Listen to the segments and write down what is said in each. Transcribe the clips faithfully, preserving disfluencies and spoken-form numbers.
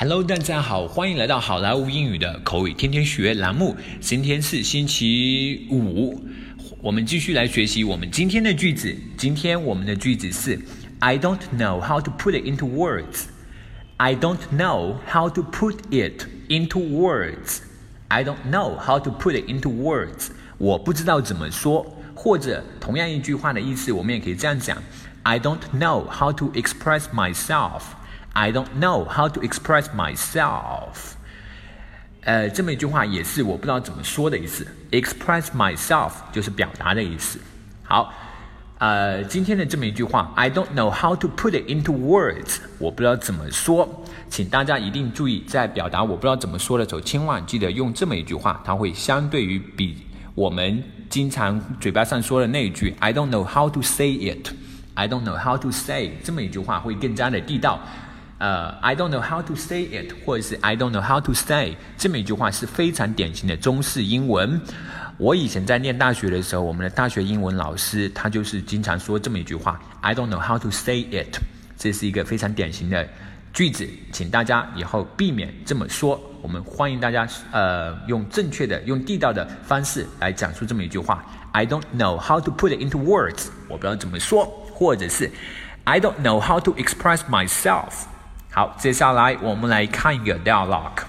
Hello， 大家好，欢迎来到好莱坞英语的口语天天学栏目。今天是星期五，我们继续来学习我们今天的句子。今天我们的句子是 I don't know how to put it into words. I don't know how to put it into words. I don't know how to put it into words. 我不知道怎么说，或者同样一句话的意思，我们也可以这样讲 I don't know how to express myself.I don't know how to express myself. 呃，这么一句话也是我不知道怎么说的意思。Express myself 就是表达的意思。好，呃，今天的这么一句话 I don't know how to put it into words. 我不知道怎么说，请大家一定注意，在表达我不知道怎么说的时候，千万记得用这么一句话，它会相对于比我们经常嘴巴上说的那一句 I don't know how to say it.I don't know how to say 这么一句话会更加的地道。呃、uh, ，I don't know how to say it， 或者是 I don't know how to say 这么一句话是非常典型的中式英文。我以前在念大学的时候，我们的大学英文老师他就是经常说这么一句话 I don't know how to say it， 这是一个非常典型的句子，请大家以后避免这么说。我们欢迎大家呃用正确的、用地道的方式来讲述这么一句话 I don't know how to put it into words， 我不知道怎么说，或者是 I don't know how to express myself。好，接下来我们来看一个 dialogue.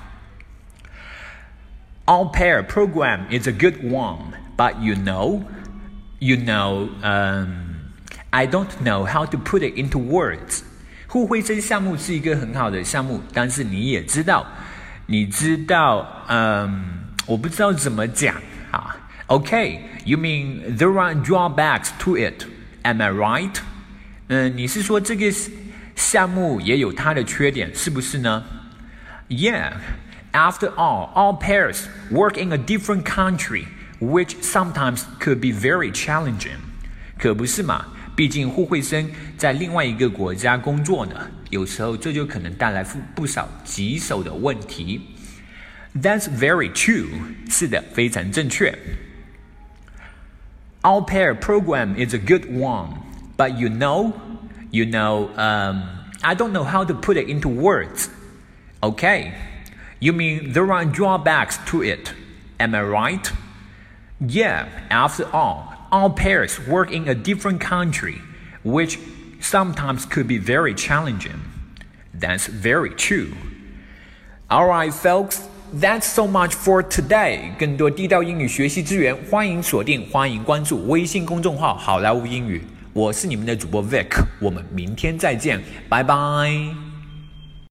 Au pair program is a good one, but you know, you know, um, I don't know how to put it into words. 互惠生项目是一个很好的项目，但是你也知道，你知道，嗯，我不知道怎么讲啊。Okay, you mean there are drawbacks to it? Am I right? 嗯，你是说这个项目也有它的缺点，是不是呢？ Yeah, after all, all pairs work in a different country, which sometimes could be very challenging. 可不是嘛，毕竟互惠生在另外一个国家工作呢，有时候这就可能带来不少棘手的问题。That's very true. 是的，非常正确。Au pair program is a good one, but you know,You know, um, I don't know how to put it into words. Okay, you mean there are drawbacks to it. Am I right? Yeah, after all, all pairs work in a different country, which sometimes could be very challenging. That's very true. All right, folks, that's so much for today. 更多地道英语学习资源，欢迎锁定，欢迎关注微信公众号好莱坞英语。我是你们的主播 Vic， 我们明天再见，拜拜。